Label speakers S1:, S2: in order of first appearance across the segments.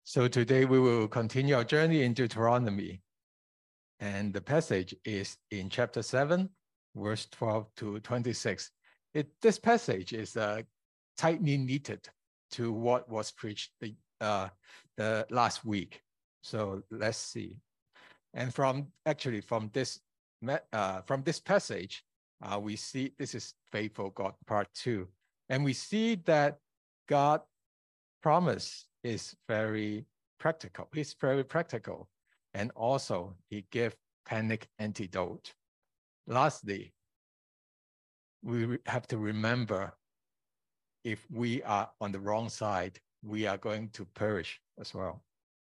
S1: So today we will continue our journey in Deuteronomy. And the passage is in chapter 7, verse 12 to 26. This passage is tightly knitted to what was preached the last week. So let's see. And from this passage, we see this is Faithful God part 2. And we see that God promise is very practical. He's very practical. And also he gave panic antidote. Lastly, we have to remember if we are on the wrong side, we are going to perish as well.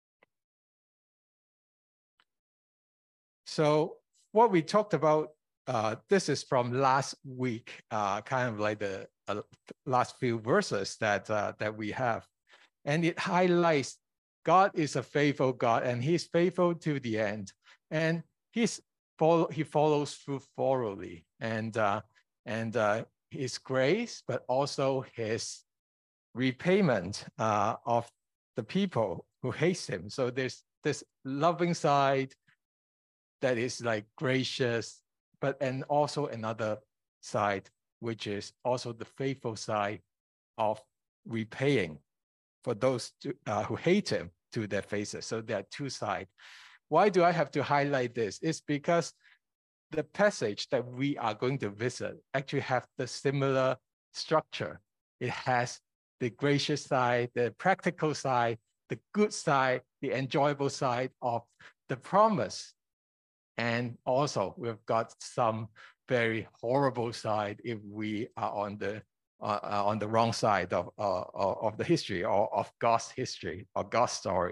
S1: So what we talked about, this is from last week, kind of like the last few verses that we have. And it highlights God is a faithful God, and he's faithful to the end. And he follows through thoroughly. And his grace, but also his repayment of the people who hate him. So there's this loving side that is like gracious, and also another side, which is also the faithful side of repaying for those who hate him to their faces. So there are two sides. Why do I have to highlight this? It's because the passage that we are going to visit actually have the similar structure. It has the gracious side, the practical side, the good side, the enjoyable side of the promise. And also we've got some very horrible side if we are on the wrong side of the history or of God's history or God's story.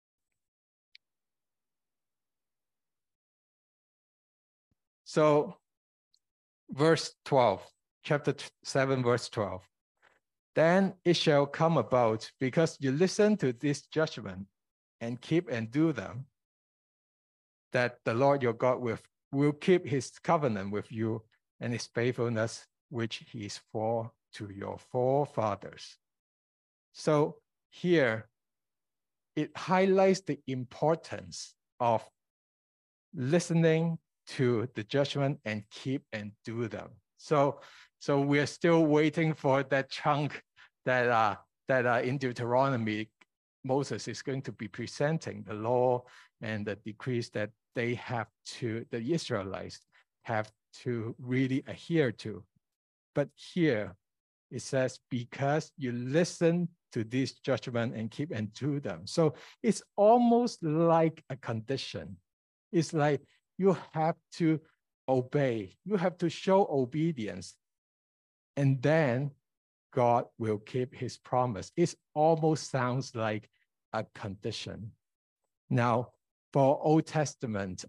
S1: So verse 12, chapter 7, verse 12. Then it shall come about, because you listen to this judgment and keep and do them, that the Lord your God will keep his covenant with you and his faithfulness, which he swore to your forefathers. So here, it highlights the importance of listening to the judgment and keep and do them. So we are still waiting for that chunk that in Deuteronomy, Moses is going to be presenting the law and the decrees that the Israelites have to really adhere to. But here it says, because you listen to this judgment and keep and do them. So it's almost like a condition. It's like you have to obey. You have to show obedience. And then God will keep his promise. It almost sounds like a condition. Now, for Old Testament,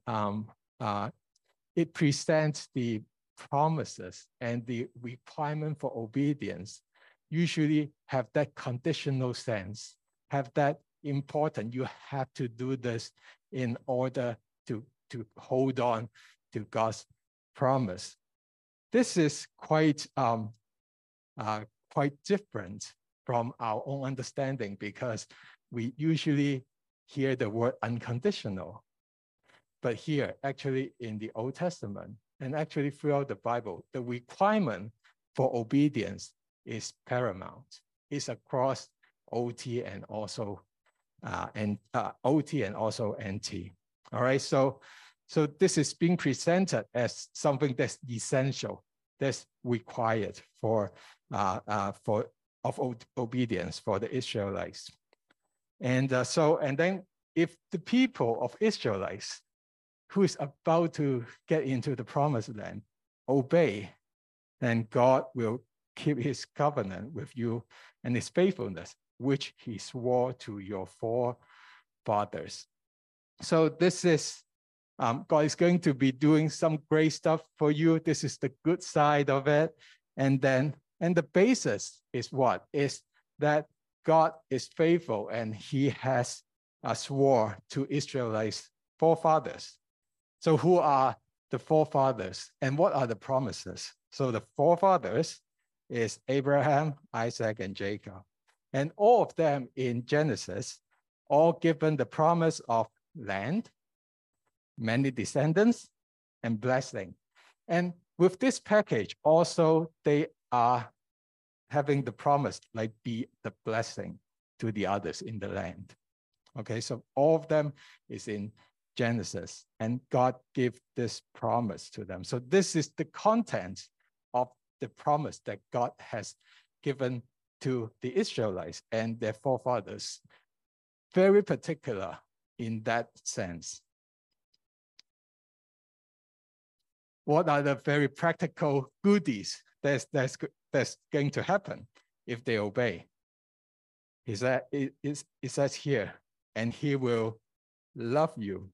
S1: it presents the promises and the requirement for obedience usually have that conditional sense, have that important. You have to do this in order to hold on to God's promise. This is quite different from our own understanding, because we usually hear the word unconditional. But here, actually in the Old Testament, and actually throughout the Bible, the requirement for obedience is paramount. It's across OT and also OT and also NT. All right, so this is being presented as something that's essential, that's required of obedience for the Israelites. And then if the people of Israelites who is about to get into the promised land obey, then God will keep his covenant with you and his faithfulness, which he swore to your forefathers. So this is, God is going to be doing some great stuff for you. This is the good side of it. And the basis is what? Is that God is faithful and he has swore to Israelites' forefathers. So who are the forefathers and what are the promises? So the forefathers is Abraham, Isaac, and Jacob. And all of them in Genesis all given the promise of land, many descendants, and blessing. And with this package, also they are having the promise, like be the blessing to the others in the land. Okay, so all of them is in Genesis, and God gave this promise to them. So this is the content of the promise that God has given to the Israelites and their forefathers. Very particular in that sense. What are the very practical goodies that's going to happen if they obey? It says here, and he will love you,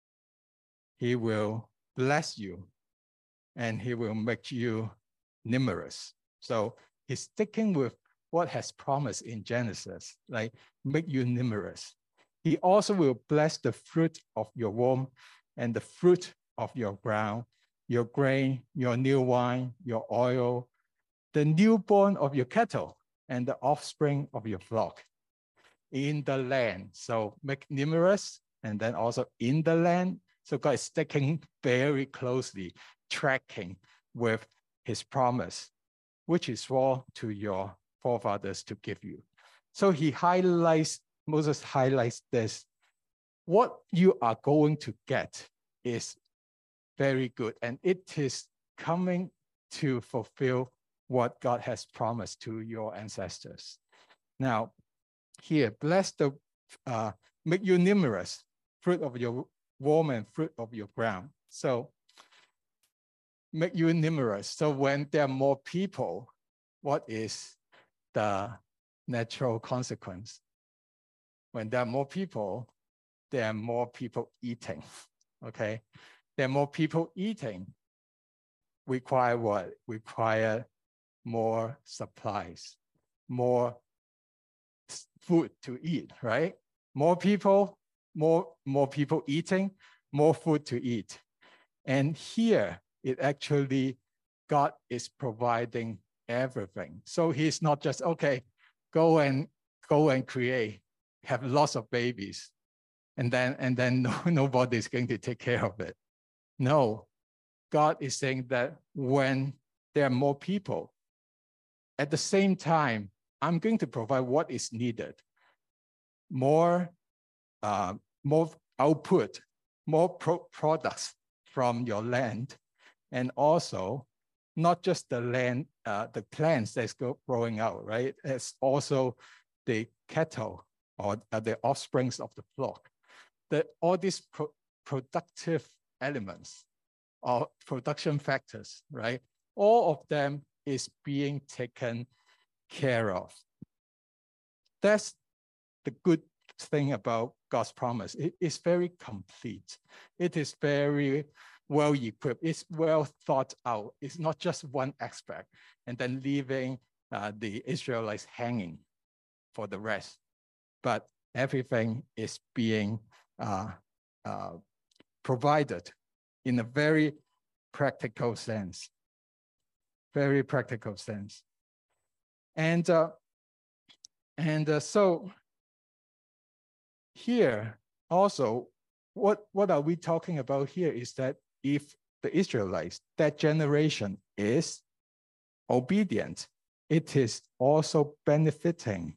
S1: he will bless you, and he will make you numerous. So he's sticking with what has promised in Genesis, like make you numerous. He also will bless the fruit of your womb and the fruit of your ground, your grain, your new wine, your oil, the newborn of your cattle, and the offspring of your flock in the land. So make numerous, and then also in the land. So God is sticking very closely, tracking with his promise, which is sworn to your forefathers to give you. So Moses highlights this. What you are going to get is very good, and it is coming to fulfill what God has promised to your ancestors. Now, here, bless the, make you numerous, fruit of your womb and fruit of your ground. So, make you numerous. So when there are more people, what is the natural consequence? When there are more people eating, okay? There are more people eating, require what? Require more supplies, more food to eat, right? More people eating, more food to eat. And here, it actually, God is providing everything. So he's not just, okay, go and create, have lots of babies, and then nobody's going to take care of it. No, God is saying that when there are more people, at the same time, I'm going to provide what is needed. More output, more products from your land, and also not just the land, the plants that's growing out, right? It's also the cattle or the offsprings of the flock. All these productive elements or production factors, right? All of them is being taken care of. That's the good thing about God's promise. It is very complete. It is very well equipped. It's well thought out. It's not just one aspect and then leaving the Israelites hanging for the rest, but everything is being provided in a very practical sense. Very practical sense. And so here also, what are we talking about here is that if the Israelites, that generation is obedient, it is also benefiting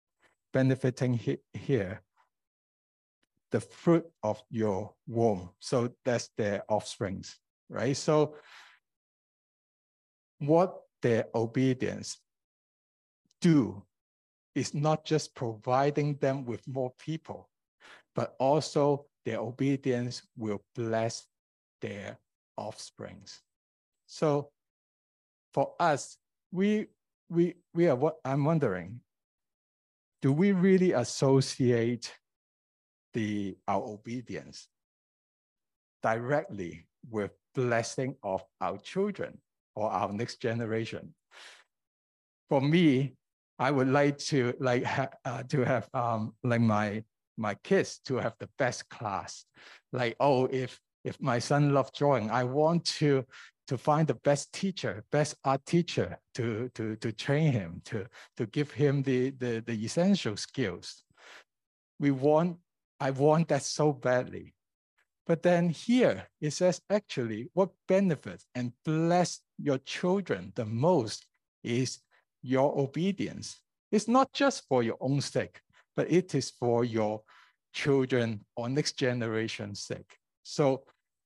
S1: here the fruit of your womb. So that's their offsprings, right? So what their obedience do is not just providing them with more people, but also their obedience will bless their offsprings. So for us, I'm wondering, do we really associate our obedience directly with blessing of our children or our next generation? For me, I would like to have my kids to have the best class. Like, oh, if my son loves drawing, I want to find the best teacher, best art teacher to train him, to give him the essential skills. I want that so badly. But then here it says actually what benefits and bless your children the most is your obedience. It's not just for your own sake, but it is for your children or next generation's sake. So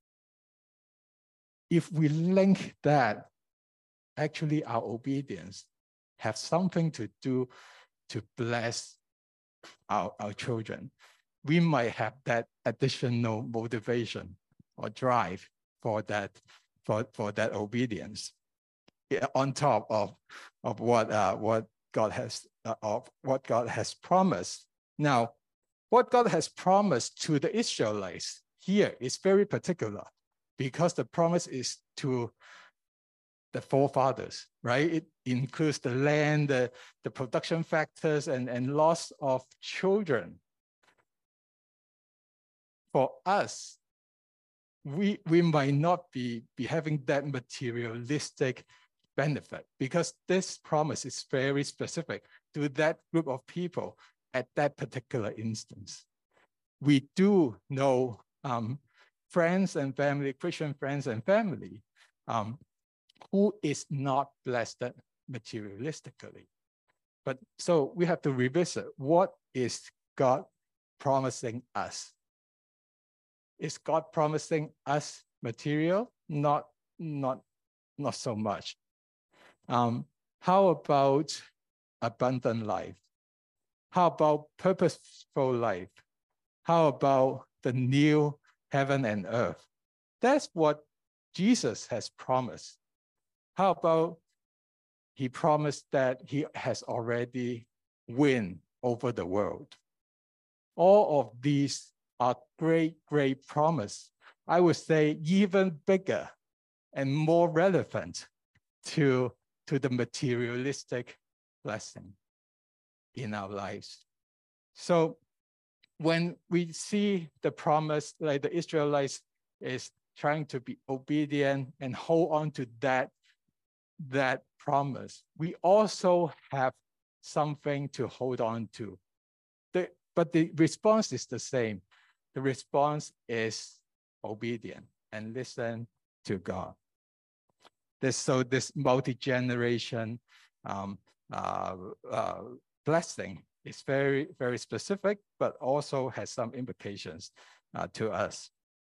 S1: if we link that, actually our obedience have something to do to bless our children, we might have that additional motivation or drive for that obedience, on top of what God has promised. Now, what God has promised to the Israelites here is very particular, because the promise is to the forefathers, right? It includes the land, the production factors, and loss of children. For us, we might not be having that materialistic benefit, because this promise is very specific to that group of people at that particular instance. We do know friends and family, Christian friends and family, who is not blessed materialistically. But so we have to revisit, what is God promising us? Is God promising us material? Not so much. How about abundant life? How about purposeful life? How about the new heaven and earth? That's what Jesus has promised. How about he promised that he has already won over the world? All of these are great promise. I would say even bigger and more relevant to the materialistic blessing in our lives. So when we see the promise, like the Israelites is trying to be obedient and hold on to that promise, we also have something to hold on to. But the response is the same. The response is obedient and listen to God. This multi-generation blessing is very specific, but also has some implications to us.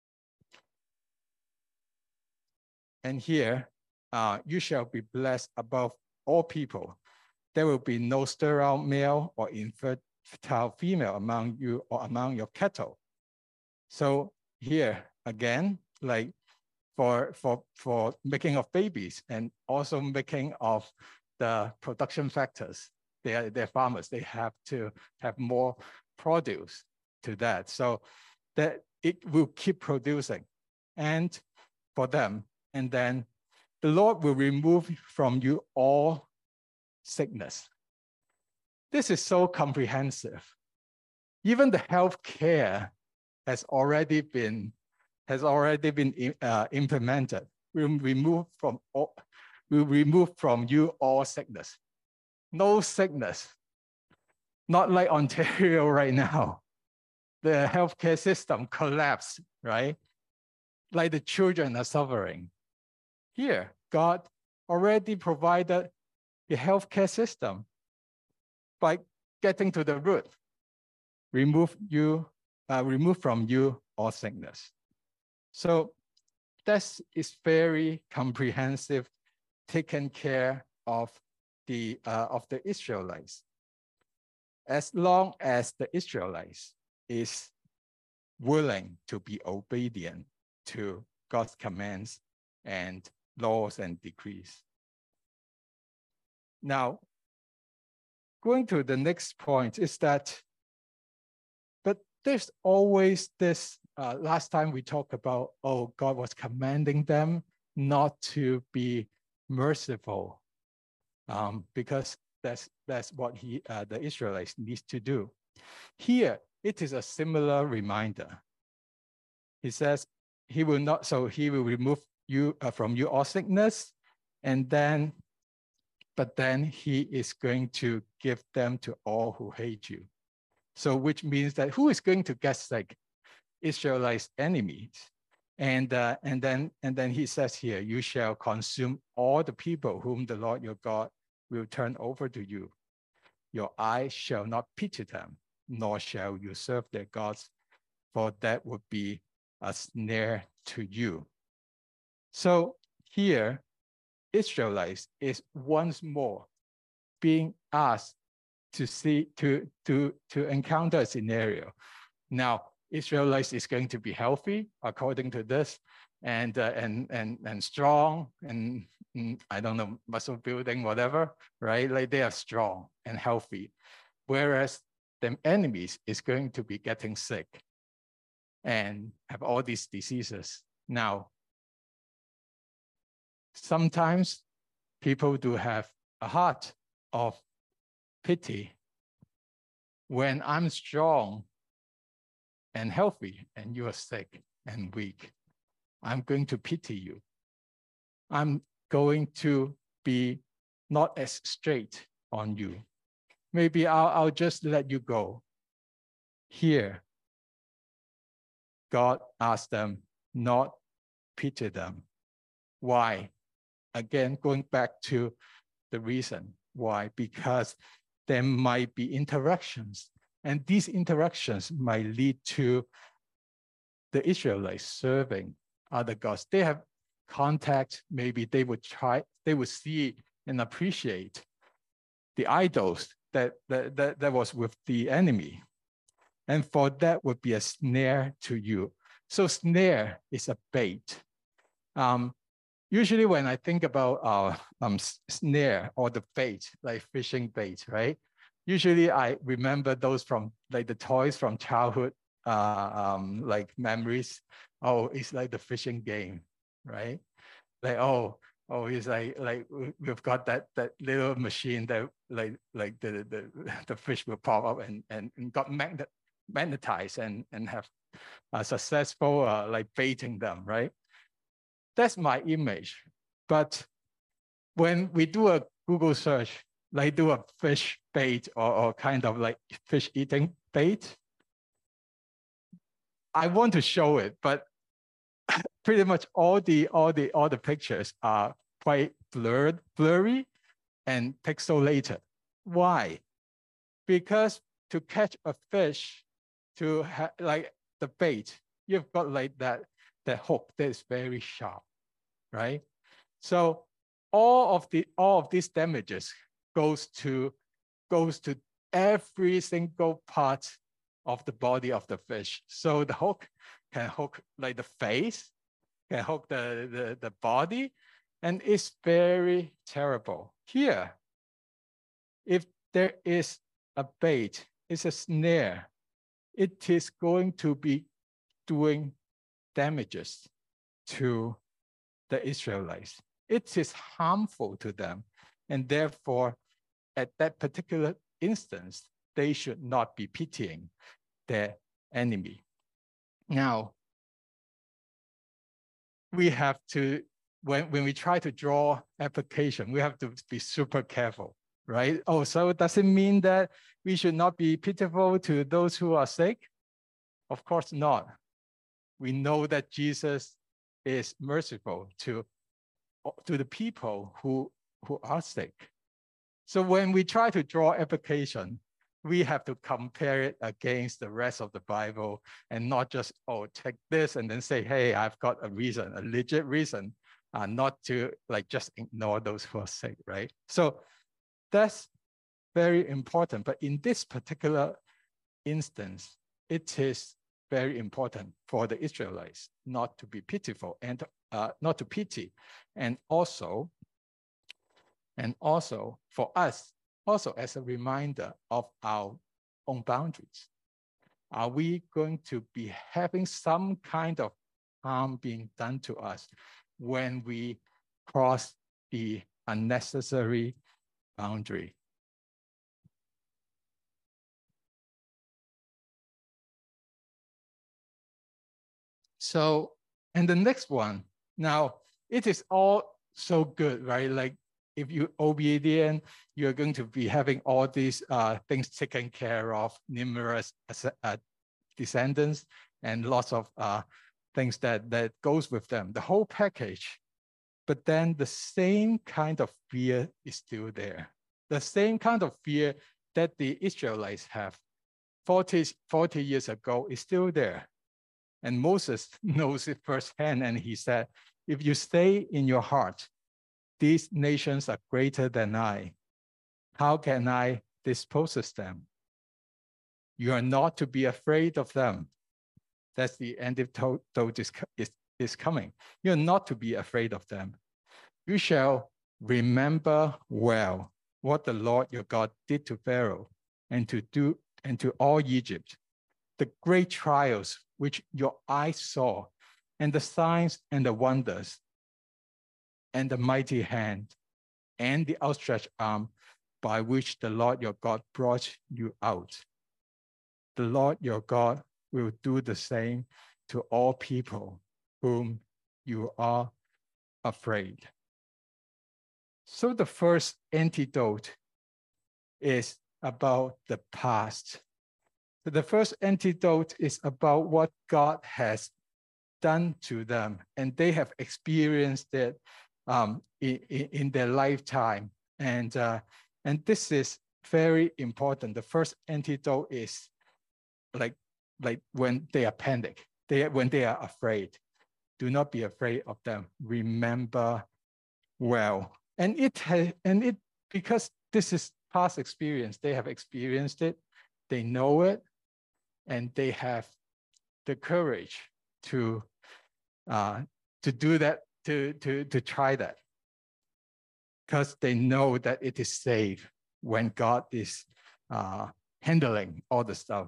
S1: And here, you shall be blessed above all people. There will be no sterile male or infertile female among you or among your cattle. So here again, like for making of babies and also making of the production factors, they're farmers. They have to have more produce to that, so that it will keep producing, and for them, and then the Lord will remove from you all sickness. This is so comprehensive. Even the health care has already been implemented. We'll remove from you all sickness. No sickness. Not like Ontario right now. The healthcare system collapsed, right? Like the children are suffering. Here, God already provided the healthcare system by getting to the root. Remove from you all sickness. So this is very comprehensive, taken care of the Israelites. As long as the Israelites is willing to be obedient to God's commands and laws and decrees. Now, going to the next point is that, but there's always this, last time we talked about, God was commanding them not to be merciful, because that's what the Israelites need to do. Here, it is a similar reminder. He says he will remove you from you all sickness, but then he is going to give them to all who hate you. So which means that who is going to get sick? Israelites' enemies. And then he says here, you shall consume all the people whom the Lord your God will turn over to you. Your eye shall not pity them, nor shall you serve their gods, for that would be a snare to you. So here, Israelites is once more being asked to see to encounter a scenario. Now, Israelites is going to be healthy according to this, and strong, and I don't know, muscle building, whatever, right? Like they are strong and healthy, whereas the enemies is going to be getting sick and have all these diseases. Now, sometimes people do have a heart of pity. When I'm strong and healthy and you are sick and weak, I'm going to pity you. I'm going to be not as straight on you. Maybe I'll just let you go. Here, God asked them not pity them. Why? Again, going back to the reason why, because there might be interactions, and these interactions might lead to the Israelites serving other gods. They have contact, maybe they would see and appreciate the idols that was with the enemy. And for that would be a snare to you. So snare is a bait. Usually when I think about snare or the bait, like fishing bait, right? Usually I remember those from like the toys from childhood, like memories. Oh, it's like the fishing game, right? Like, oh, it's like we've got that little machine that like the fish will pop up and got magnetized and have a successful like baiting them, right? That's my image. But when we do a Google search, like do a fish bait or kind of like fish eating bait, I want to show it, but pretty much all the pictures are quite blurry and pixelated. Why? Because to catch a fish, to have like the bait, you've got like that hook that is very sharp, right? So all of these damages goes to every single part of the body of the fish. So the hook can hook like the face, can hook the body, and it's very terrible. Here, if there is a bait, it's a snare, it is going to be doing damages to the Israelites. It is harmful to them. And therefore, at that particular instance, they should not be pitying their enemy. Now, we have to, when we try to draw application, we have to be super careful, right? Oh, so does it mean that we should not be pitiful to those who are sick? Of course not. We know that Jesus is merciful to the people who are sick. So when we try to draw application, we have to compare it against the rest of the Bible and not just, oh, take this and then say, hey, I've got a reason, a legit reason, not to like just ignore those who are sick, right? So that's very important. But in this particular instance, it is very important for the Israelites not to be pitiful and not to pity, and also for us, also as a reminder of our own boundaries. Are we going to be having some kind of harm being done to us when we cross the unnecessary boundary? So, and the next one, now it is all so good, right? Like if you obedient, you're going to be having all these things taken care of, numerous descendants, and lots of things that goes with them, the whole package. But then the same kind of fear is still there. The same kind of fear that the Israelites have 40 years ago is still there. And Moses knows it firsthand, and he said, if you stay in your heart, these nations are greater than I. How can I dispose of them? You are not to be afraid of them. That's the antidote is coming. You're not to be afraid of them. You shall remember well what the Lord your God did to Pharaoh and to all Egypt, the great trials which your eyes saw, and the signs and the wonders, and the mighty hand, and the outstretched arm by which the Lord your God brought you out. The Lord your God will do the same to all people whom you are afraid. So the first antidote is about the past. So the first antidote is about what God has done to them, and they have experienced it in their lifetime. And this is very important. The first antidote is like when they are panicked, when they are afraid. Do not be afraid of them. Remember well. And it because this is past experience, they have experienced it, they know it, and they have the courage to do that, to try that, because they know that it is safe when God is handling all the stuff.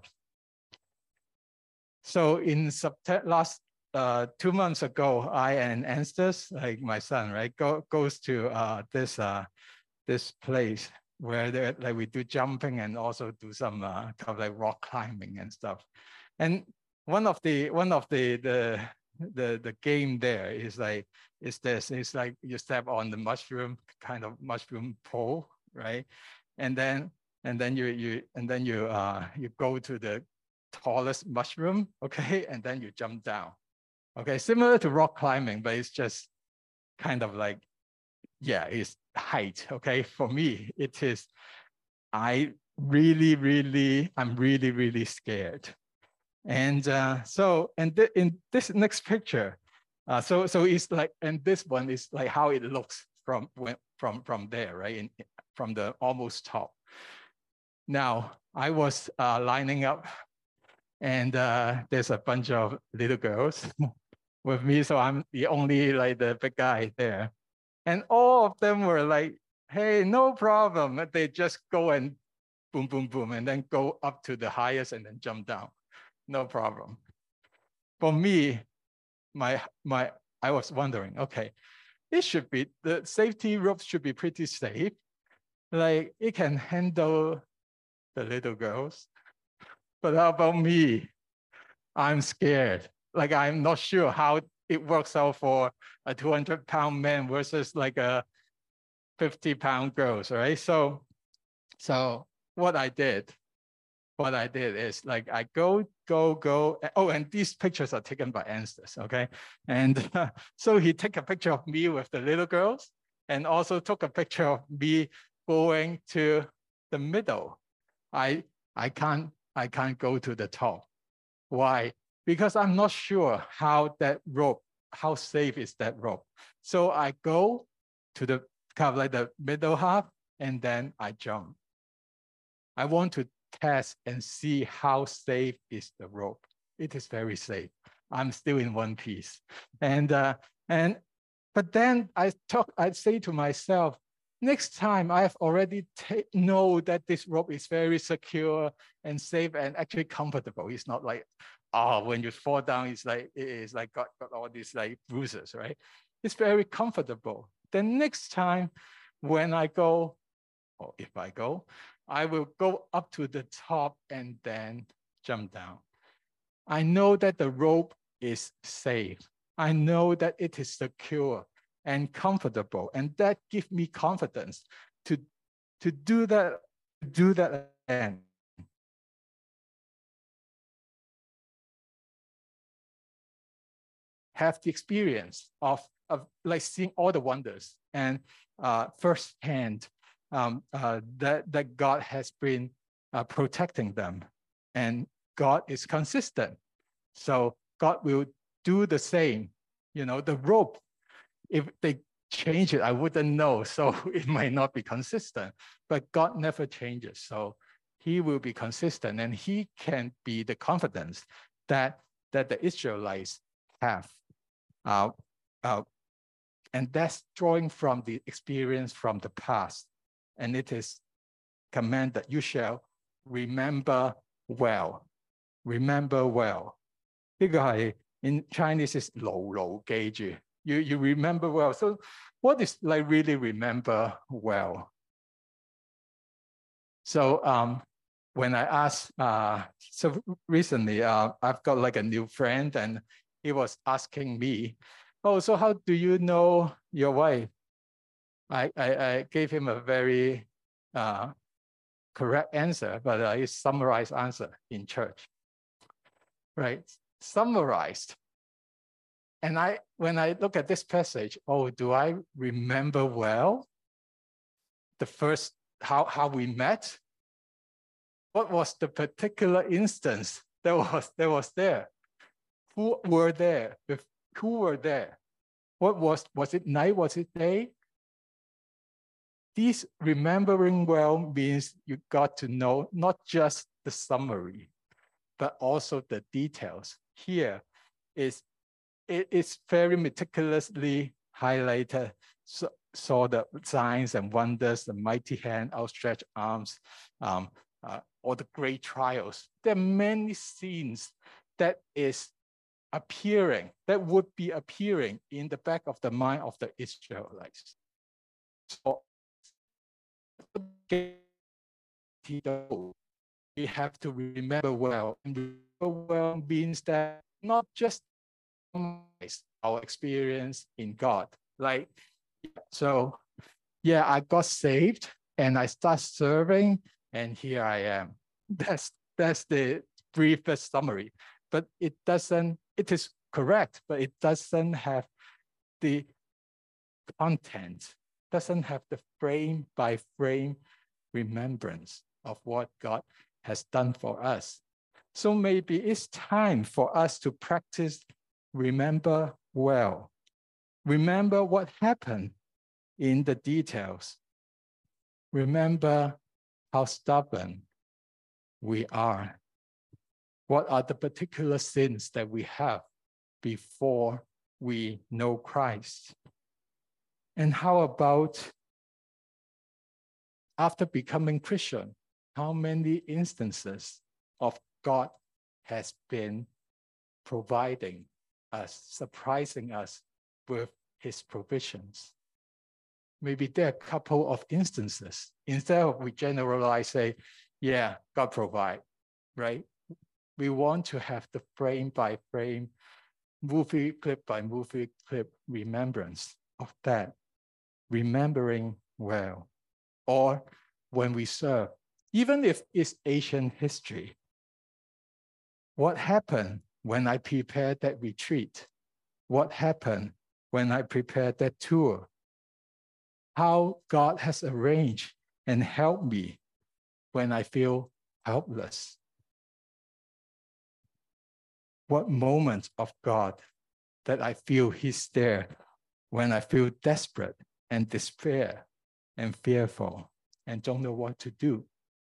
S1: So in last 2 months ago, I and Anstis, like my son, right, goes to this place where we do jumping and also do some kind of like rock climbing and stuff. And one of the game there is like it's like you step on the mushroom pole, right? And then you go to the tallest mushroom, okay, and then you jump down. Okay, similar to rock climbing, but it's just kind of like, yeah, it's height. Okay, for me, it is. I'm really scared. And in this next picture, so it's like, and this one is like how it looks from there, right? From the almost top. Now I was lining up, and there's a bunch of little girls with me, so I'm the only like the big guy there, and all of them were like, "Hey, no problem." They just go and boom, boom, boom, and then go up to the highest and then jump down. No problem. For me, I was wondering, okay, it should be, the safety ropes should be pretty safe. Like it can handle the little girls. But how about me? I'm scared. Like I'm not sure how it works out for a 200-pound man versus like a 50-pound girls, right? So what I did is like I go. Oh, and these pictures are taken by Anstis, okay? And so he took a picture of me with the little girls, and also took a picture of me going to the middle. I can't go to the top. Why? Because I'm not sure how safe is that rope. So I go to the kind of like the middle half, and then I jump. I want to test and see how safe is the rope. It is very safe. I'm still in one piece. But then I say to myself, next time I have already know that this rope is very secure and safe and actually comfortable. It's not like, when you fall down, it's like got all these like bruises, right? It's very comfortable. Then next time when I go, or if I go, I will go up to the top and then jump down. I know that the rope is safe. I know that it is secure. and comfortable. And that gives me confidence to do that again. Have the experience of like seeing all the wonders and firsthand that God has been protecting them, and God is consistent. So God will do the same. You know, the rope, if they change it, I wouldn't know. So it might not be consistent, but God never changes. So he will be consistent, and he can be the confidence that the Israelites have. And that's drawing from the experience from the past. And it is command that you shall remember well. Remember well. 呢個係 in Chinese is 牢牢記住. You remember well. So what is like really remember well? So when I asked, so recently I've got like a new friend, and he was asking me, oh, so how do you know your wife? I gave him a very correct answer, but I summarized answer in church, right? Summarized. And when I look at this passage, oh, do I remember well the first, how we met? What was the particular instance that was there? Who were there? Who were there? What was it night? Was it day? These remembering well means you got to know not just the summary, but also the details. Here it's very meticulously highlighted. So, saw the signs and wonders, the mighty hand, outstretched arms, all the great trials. There are many scenes that is appearing, that would be appearing in the back of the mind of the Israelites. So we have to remember well. And remember well means that not just our experience in God. Like, so yeah, I got saved and I start serving, and here I am. That's the briefest summary. But it is correct, but it doesn't have the content, doesn't have the frame by frame remembrance of what God has done for us. So maybe it's time for us to practice remember well. Remember what happened in the details. Remember how stubborn we are. What are the particular sins that we have before we know Christ? And how about after becoming Christian? How many instances of God has been providing us, surprising us with his provisions? Maybe there are a couple of instances. Instead of we generalize, say, yeah, God provide, right? We want to have the frame by frame, movie clip by movie clip remembrance of that, remembering well. Or when we serve, even if it's ancient history, what happened when I prepared that retreat? What happened when I prepared that tour? How God has arranged and helped me when I feel helpless. What moments of God that I feel he's there when I feel desperate and despair and fearful and don't know what to do.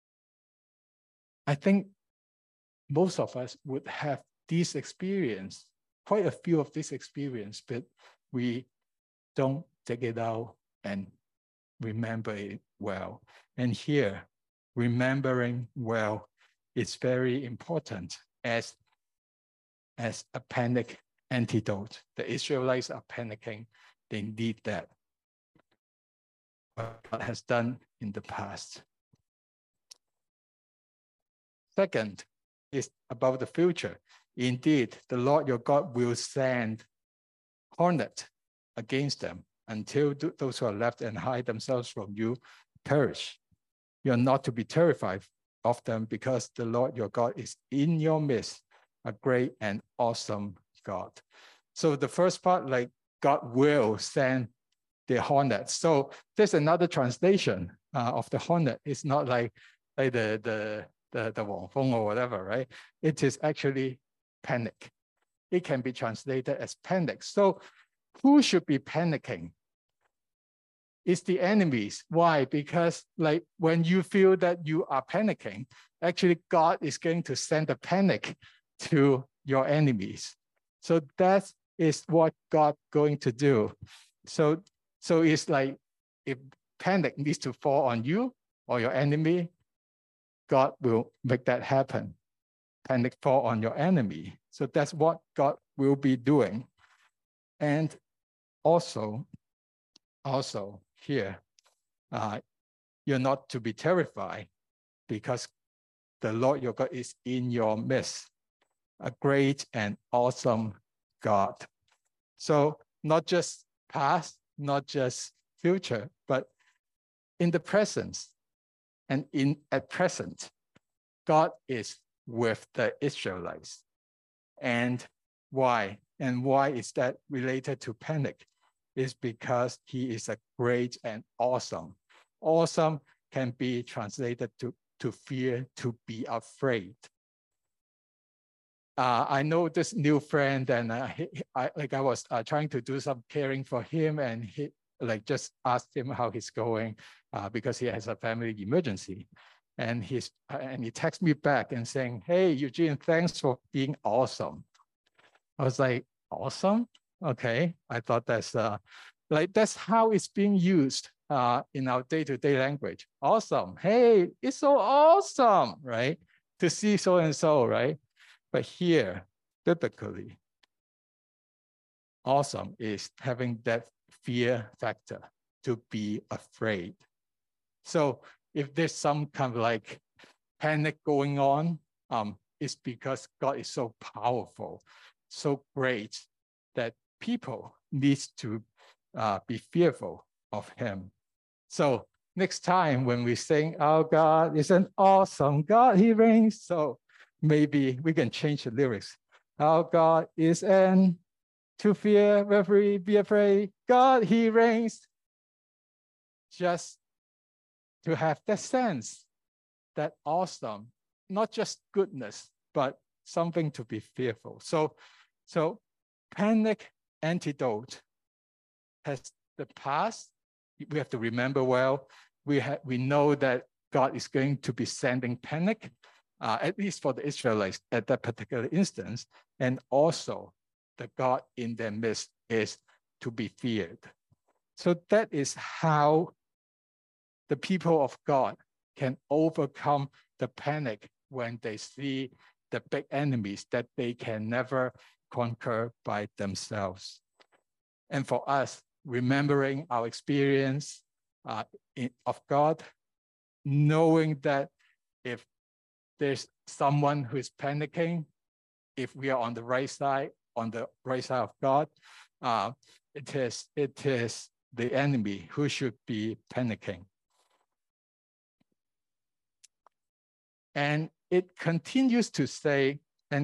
S1: I think most of us would have this experience, quite a few of this experience, but we don't take it out and remember it well. And here, remembering well is very important as a panic antidote. The Israelites are panicking. They need that. What God has done in the past. Second is about the future. Indeed, the Lord your God will send hornet against them, until those who are left and hide themselves from you perish. You are not to be terrified of them, because the Lord your God is in your midst, a great and awesome God. So the first part, like God will send the hornet. So there's another translation of the hornet. It's not like the Wang Feng or whatever, right? It is actually panic. It can be translated as panic. So who should be panicking? It's the enemies. Why? Because like when you feel that you are panicking, actually God is going to send a panic to your enemies. So that is what God going to do. So it's like if panic needs to fall on you or your enemy, God will make that happen. Panic fall on your enemy. So that's what God will be doing. And also here, you're not to be terrified, because the Lord your God is in your midst, a great and awesome God. So not just past, not just future, but in the present and at present, God is with the Israelites. And why? And why is that related to panic? Is because he is a great and awesome. Awesome can be translated to fear, to be afraid. I know this new friend, and I was trying to do some caring for him, and he just asked him how he's going because he has a family emergency. And he texted me back and saying, "Hey, Eugene, thanks for being awesome." I was like, "Awesome? Okay." I thought that's that's how it's being used in our day-to-day language. Awesome. Hey, it's so awesome, right? To see so and so, right? But here, biblically, awesome is having that fear factor, to be afraid. So if there's some kind of like panic going on, it's because God is so powerful, so great, that people need to be fearful of him. So next time when we sing, "Our God is an awesome God, he reigns," so maybe we can change the lyrics. "Our God is an to fear, referee, be afraid, God, he reigns." Just to have that sense, that awesome, not just goodness, but something to be fearful. So panic antidote has the past. We have to remember well. We know that God is going to be sending panic, at least for the Israelites at that particular instance, and also the God in their midst is to be feared. So that is how the people of God can overcome the panic when they see the big enemies that they can never conquer by themselves. And for us, remembering our experience of God, knowing that if there's someone who is panicking, if we are on the right side of God, it is the enemy who should be panicking. And it continues to say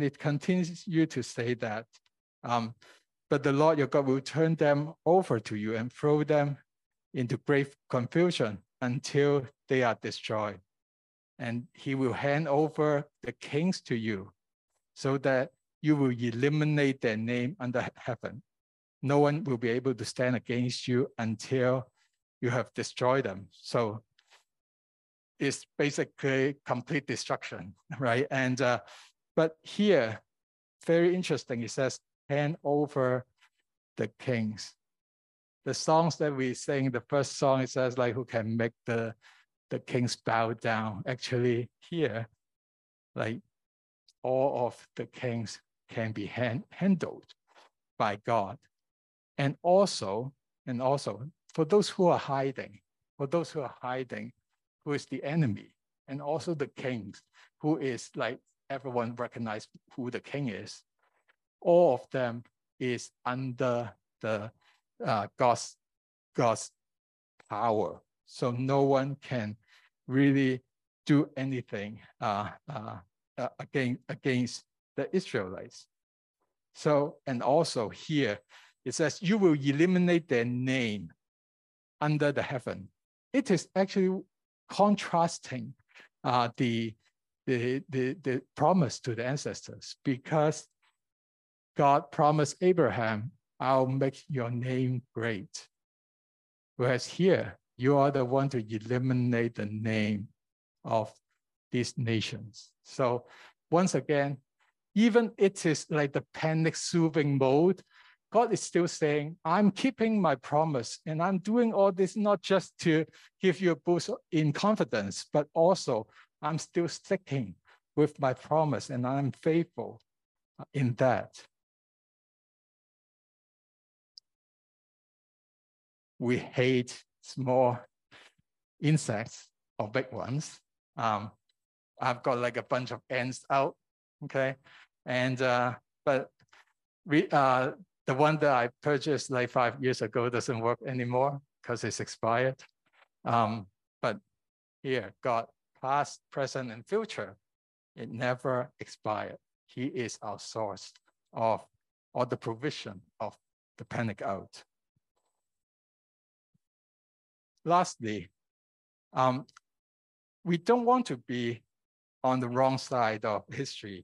S1: that, but the Lord your God will turn them over to you and throw them into great confusion until they are destroyed. And he will hand over the kings to you, so that you will eliminate their name under heaven. No one will be able to stand against you until you have destroyed them. So it's basically complete destruction, right? And but here, very interesting, it says, hand over the kings. The songs that we sing, the first song, it says like, who can make the kings bow down? Actually here, like all of the kings can be handled by God. And also, for those who are hiding, who is the enemy, and also the kings, who is like everyone recognize who the king is, all of them is under the God's God's power. So no one can really do anything against the Israelites. So, and also here, it says, you will eliminate their name under the heaven. It is actually contrasting the promise to the ancestors, because God promised Abraham, I'll make your name great. Whereas here, you are the one to eliminate the name of these nations. So once again, even it is like the panic soothing mode, God is still saying, I'm keeping my promise, and I'm doing all this not just to give you a boost in confidence, but also I'm still sticking with my promise, and I'm faithful in that. We hate small insects or big ones. I've got like a bunch of ants out, okay? And, but the one that I purchased like 5 years ago doesn't work anymore because it's expired. But here, God, past, present, and future, it never expired. He is our source of, or the provision of the panic out. Lastly, we don't want to be on the wrong side of history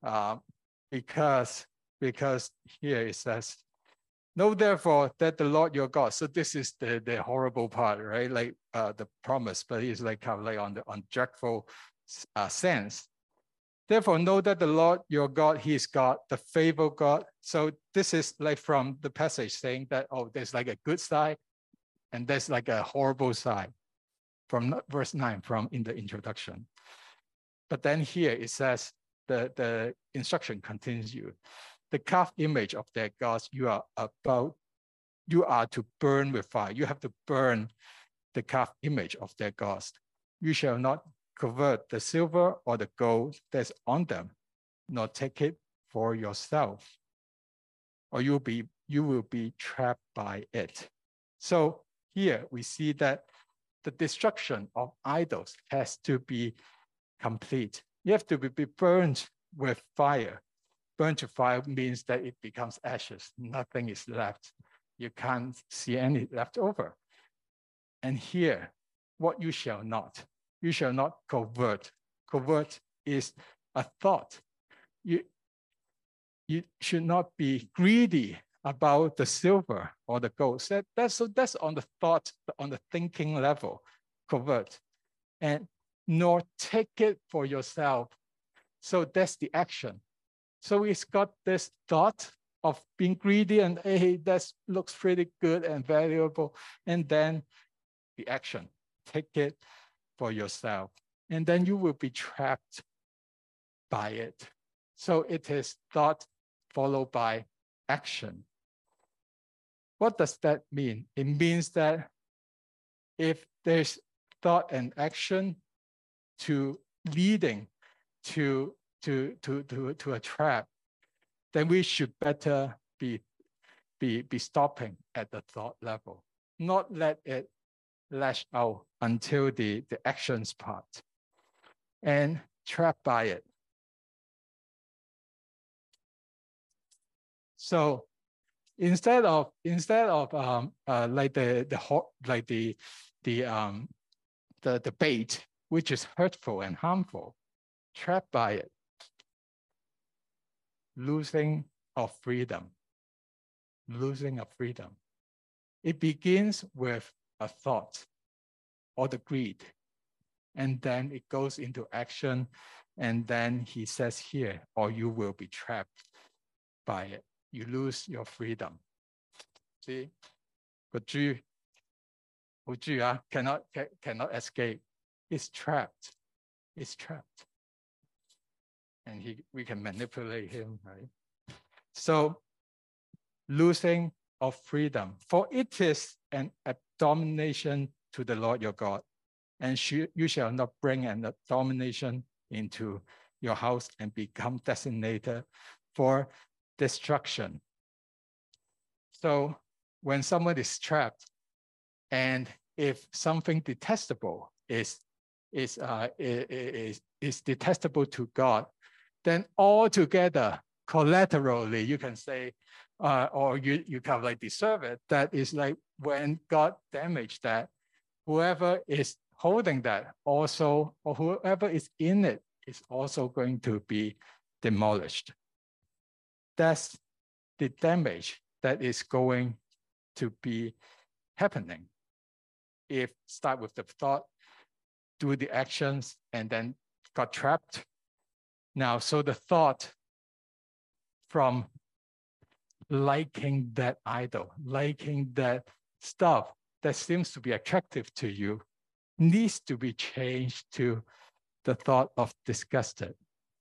S1: because here it says, know therefore that the Lord your God. So this is the horrible part, right? Like the promise, but it's like kind of like on dreadful sense. Therefore, know that the Lord your God, he is God, the faithful God. So this is like from the passage saying that, oh, there's like a good side and there's like a horrible side from verse 9 from in the introduction. But then here it says, the instruction continues you. The calf image of their gods, you are to burn with fire. You have to burn the calf image of their gods. You shall not convert the silver or the gold that's on them, nor take it for yourself, or you will be trapped by it. So here we see that the destruction of idols has to be complete. You have to be burned with fire. Burned to fire means that it becomes ashes. Nothing is left. You can't see any left over. And here, what you shall not convert. Convert is a thought. You should not be greedy about the silver or the gold. That's on the thought, on the thinking level, convert. And nor take it for yourself. So that's the action. So it's got this thought of being greedy and, hey, that looks pretty good and valuable. And then the action, take it for yourself. And then you will be trapped by it. So it is thought followed by action. What does that mean? It means that if there's thought and action to leading to a trap, then we should better be stopping at the thought level, not let it lash out until the actions part and trapped by it. So instead of like the bait, which is hurtful and harmful, trapped by it, losing of freedom. Losing of freedom. It begins with a thought or the greed, and then it goes into action, and then he says here, or you will be trapped by it. You lose your freedom. See, 個豬好豬啊 cannot escape. It's trapped. It's trapped. And we can manipulate him, right? So losing of freedom, for it is an abomination to the Lord your God, and you shall not bring an abomination into your house and become designated for destruction. So when someone is trapped, And if something detestable is detestable to God, then altogether, collaterally, you can say, or you kind of like deserve it. That is like when God damaged that, whoever is holding that also, or whoever is in it, is also going to be demolished. That's the damage that is going to be happening. If start with the thought, do the actions, and then got trapped. Now, so the thought from liking that idol, liking that stuff that seems to be attractive to you, needs to be changed to the thought of disgusted.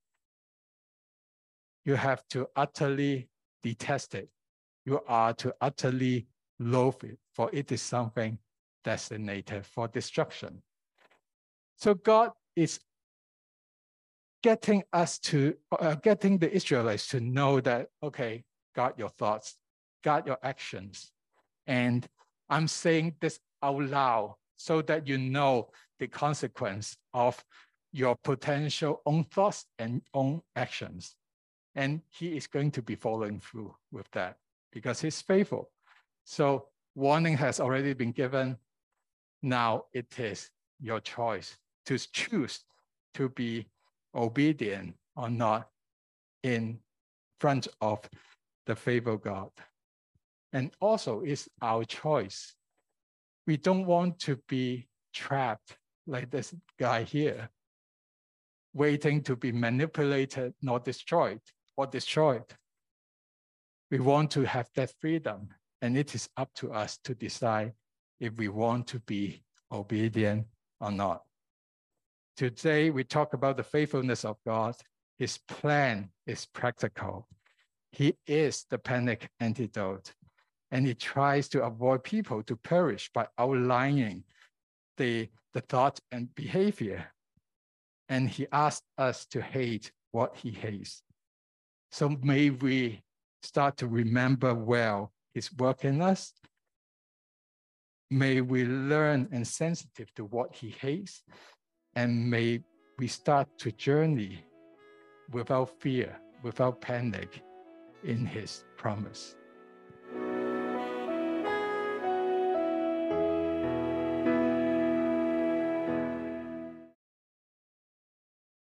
S1: You have to utterly detest it. You are to utterly loathe it, for it is something designated for destruction. So God is getting us to, getting the Israelites to know that, okay, guard your thoughts, guard your actions. And I'm saying this out loud so that you know the consequence of your potential own thoughts and own actions. And he is going to be following through with that because he's faithful. So warning has already been given. Now it is your choice to choose to be obedient or not in front of the faithful God. And also it's our choice. We don't want to be trapped like this guy here, waiting to be manipulated, not destroyed or destroyed. We want to have that freedom, and it is up to us to decide if we want to be obedient or not. Today, we talk about the faithfulness of God. His plan is practical. He is the panic antidote, and he tries to avoid people to perish by outlining the thought and behavior. And he asks us to hate what he hates. So may we start to remember well his work in us. May we learn and sensitive to what he hates, and may we start to journey without fear, without panic in his promise.